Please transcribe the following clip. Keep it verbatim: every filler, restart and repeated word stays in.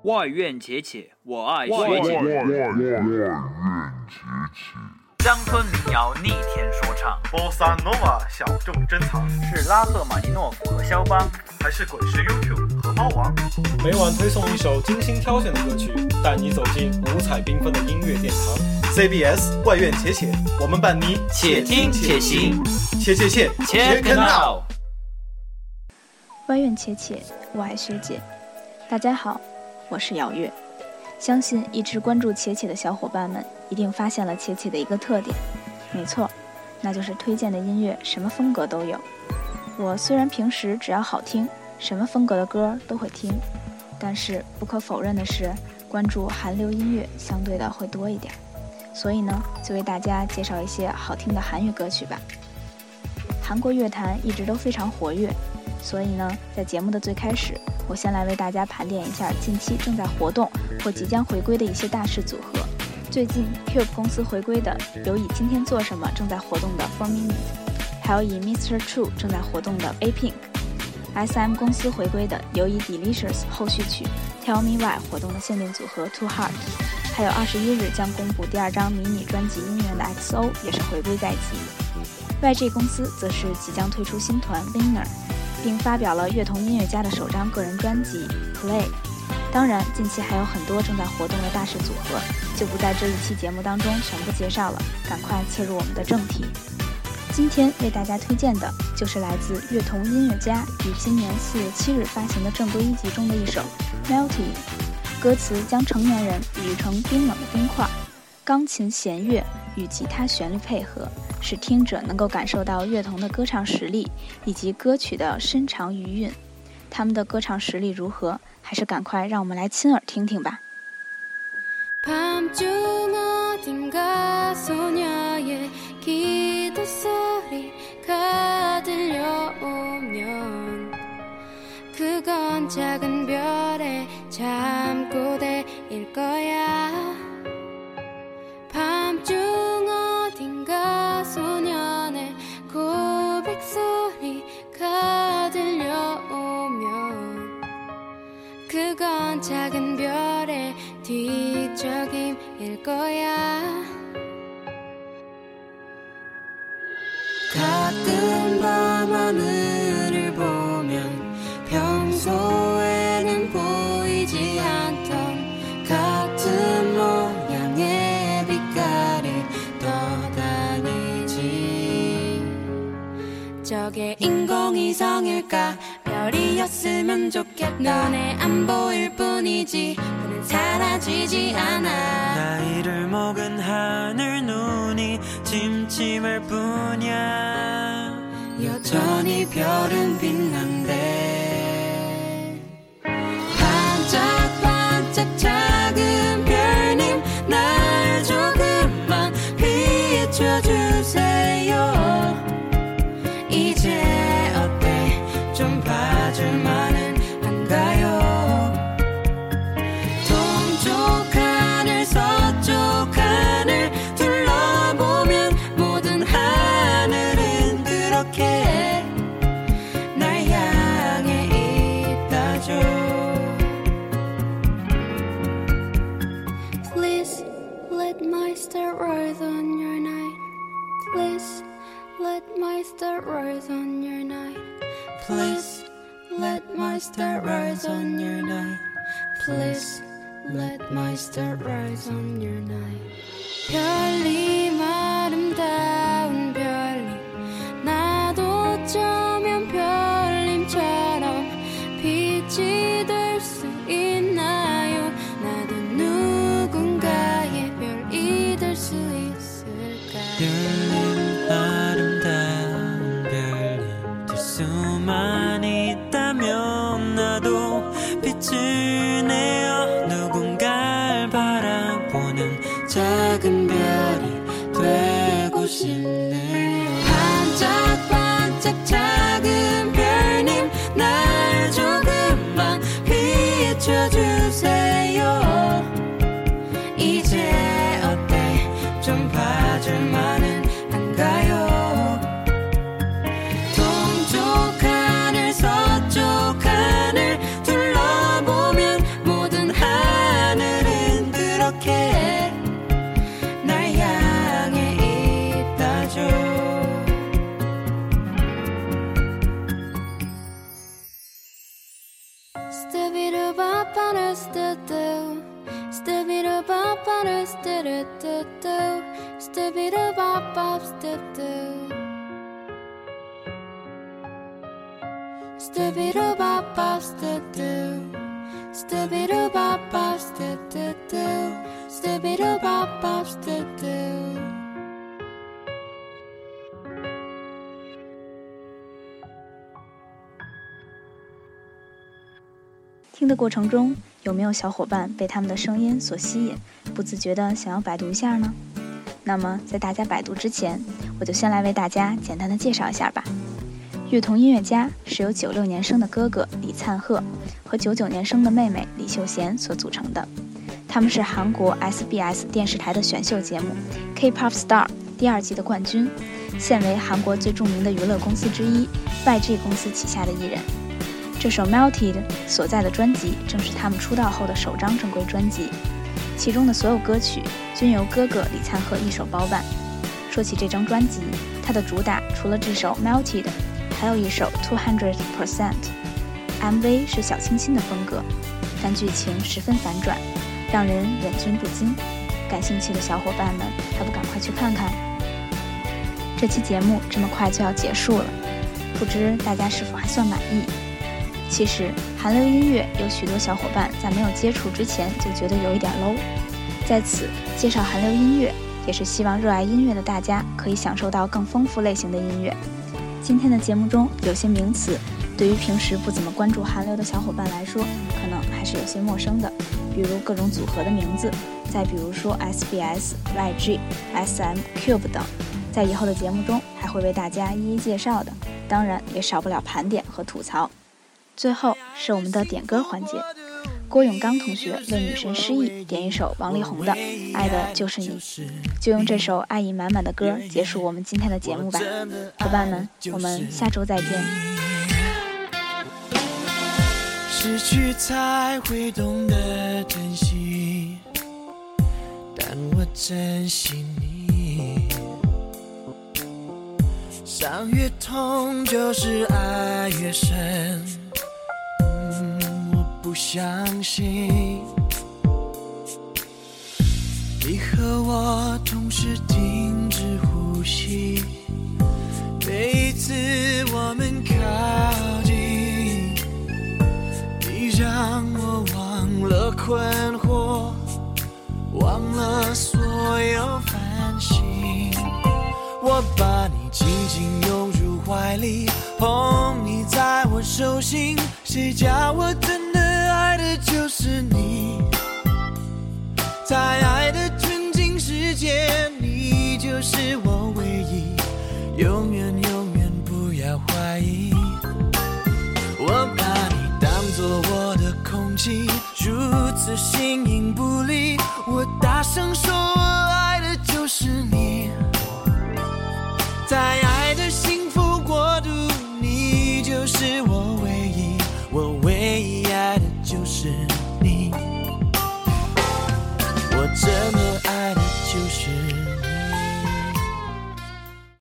外院且且，我爱学姐。乡村民谣逆天说唱， 波萨诺瓦小众珍藏， 是拉赫玛尼诺夫和肖邦， 还是滚石 YouTube 和猫王？ 每晚推送一首精心挑选的歌曲，带你走进五彩缤纷的音乐殿堂。 C B S 外院且且，我们伴你且听且行， 且且且 Check it out。 外院且且，我爱学姐。大家好，我是姚月。相信一直关注且且的小伙伴们一定发现了且且的一个特点，没错，那就是推荐的音乐什么风格都有。我虽然平时只要好听，什么风格的歌都会听，但是不可否认的是，关注韩流音乐相对的会多一点，所以呢，就为大家介绍一些好听的韩语歌曲吧。韩国乐坛一直都非常活跃，所以呢，在节目的最开始，我先来为大家盘点一下近期正在活动或即将回归的一些大势组合。最近 Cube 公司回归的有以今天做什么正在活动的 four minute， 还有以 Mister True 正在活动的 A Pink。S M 公司回归的有以 Delicious 后续曲 Tell Me Why 活动的限定组合 Too Hard， 还有二十一日将公布第二张迷你专辑音源的 X O 也是回归在即。Y G 公司则是即将推出新团 Winner，并发表了乐童音乐家的首张个人专辑 Play。 当然近期还有很多正在活动的大势组合，就不在这一期节目当中全部介绍了，赶快切入我们的正题。今天为大家推荐的就是来自乐童音乐家于今年四月七日发行的正规一辑中的一首 Melty， 歌词将成年人比喻成冰冷的冰块，钢琴弦乐与吉他旋律配合，使听者能够感受到乐童的歌唱实力以及歌曲的深长余韵。他们的歌唱实力如何，还是赶快让我们来亲耳听听吧。 그건 작은 별의 뒤적임일 거야. 가끔 밤하늘을 보면 평소에는 보이지 않던 같은 모양의 빛깔이 떠다니지. 저게 인공위성일까? 별이었으면 좋겠다. 눈에 안 보일 뿐이지 그는 사라지지 않아. 나이를 먹은 하늘 눈이 침침할 뿐이야. 여전히 별은 빛난대. 반짝반짝 작은 별님 날 조금만 비춰주세요. 이제 어때 좀 봐줄만은 한가요? 동쪽 하늘 서쪽 하늘 둘러보면 모든 하늘은 그렇게 날 향해 있다죠. Please let my star rise on your night. Please let my star rise on your night. Please let my star rise on your night. Please let my star rise on your night. 별님 아름다운 별님 나도 어쩌면 별님처럼 빛이 될 수 있나요? 나도 누군가의 별이 될 수 있을까? 별님 아름다운 별님 될 수만 있다면 나도 빛을 내어 누군가를 바라보는 작은 별이 되고 싶네요. 반짝반짝 작은 별님 날 조금만 비춰주세요. 이제 어때 좀 봐줄만은 한가요? 동쪽 하늘 서쪽 하늘 둘러보면 모든 하늘 Stubby-doo-bop-on-a-stu-doo. Stubby-doo-bop-on-a-stu-doo-doo-doo. Stubby-doo-bop-bop-stu-doo. Stubby-doo-bop-bop-stu-doo. Stubby-doo-bop-bop-stu-doo-doo. Stubby-doo-bop-bop-stu-doo. 听的过程中，有没有小伙伴被他们的声音所吸引，不自觉地想要百度一下呢？那么在大家百度之前，我就先来为大家简单的介绍一下吧。乐童音乐家是由九六年生的哥哥李灿赫和九九年生的妹妹李秀贤所组成的。他们是韩国 S B S 电视台的选秀节目 K-pop Star 第二季的冠军，现为韩国最著名的娱乐公司之一 Y G 公司旗下的艺人。这首 Melted 所在的专辑正是他们出道后的首张正规专辑，其中的所有歌曲均由哥哥李灿赫一手包办。说起这张专辑，它的主打除了这首 Melted， 还有一首 two hundred percent。M V 是小清新的风格，但剧情十分反转，让人忍俊不禁。感兴趣的小伙伴们还不赶快去看看？这期节目这么快就要结束了，不知大家是否还算满意？其实韩流音乐有许多小伙伴在没有接触之前就觉得有一点 low， 在此介绍韩流音乐，也是希望热爱音乐的大家可以享受到更丰富类型的音乐。今天的节目中有些名词对于平时不怎么关注韩流的小伙伴来说可能还是有些陌生的，比如各种组合的名字，再比如说 S B S、Y G、S M、Cube 等，在以后的节目中还会为大家一一介绍的，当然也少不了盘点和吐槽。最后是我们的点歌环节，郭永刚同学为女神失忆点一首王力宏的《爱的就是你》，就用这首爱意满满的歌结束我们今天的节目吧。伙伴们，我们下周再见。 失去才会懂得珍惜，但我珍惜你。伤越痛就是爱越深，不相信你和我同时停止呼吸，每一次我们靠近，你让我忘了困惑，忘了所有烦心，我把你紧紧拥入怀里，捧你在我手心，谁叫我真的爱的就是你，在爱的纯净世界，你就是我唯一，永远永远不要怀疑，我把你当作我的空气，如此形影不离，我大声说我爱的就是你，在爱的幸福国度，你就是我唯一，我唯一爱的就是你，我这么爱